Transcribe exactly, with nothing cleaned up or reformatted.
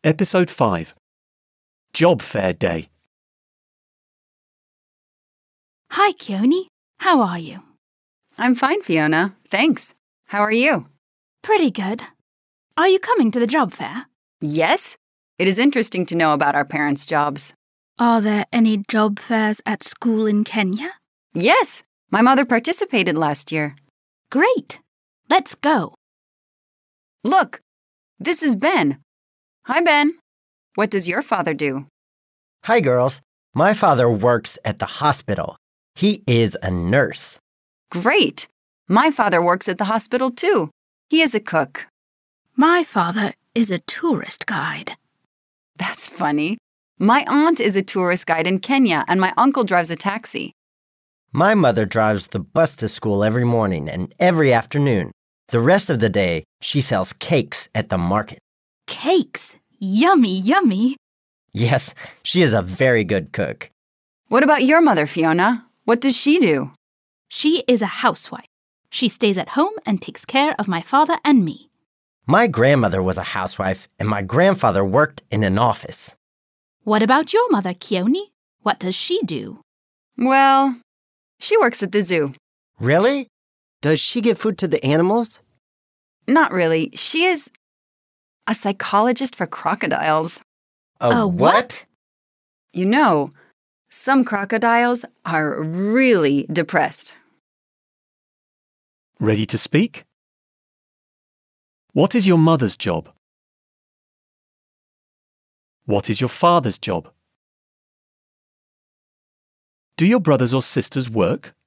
Episode five. Job Fair Day. Hi, Keone. How are you? I'm fine, Fiona. Thanks. How are you? Pretty good. Are you coming to the job fair? Yes. It is interesting to know about our parents' jobs. Are there any job fairs at school in Kenya? Yes. My mother participated last year. Great. Let's go. Look, this is Ben. Hi, Ben. What does your father do? Hi, girls. My father works at the hospital. He is a nurse. Great. My father works at the hospital, too. He is a cook. My father is a tourist guide. That's funny. My aunt is a tourist guide in Kenya, and my uncle drives a taxi. My mother drives the bus to school every morning and every afternoon. The rest of the day, she sells cakes at the market. Cakes. Yummy, yummy. Yes, she is a very good cook. What about your mother, Fiona? What does she do? She is a housewife. She stays at home and takes care of my father and me. My grandmother was a housewife, and my grandfather worked in an office. What about your mother, Keone? What does she do? Well, she works at the zoo. Really? Does she give food to the animals? Not really. She is a psychologist for crocodiles. A, A what? You know, some crocodiles are really depressed. Ready to speak? What is your mother's job? What is your father's job? Do your brothers or sisters work?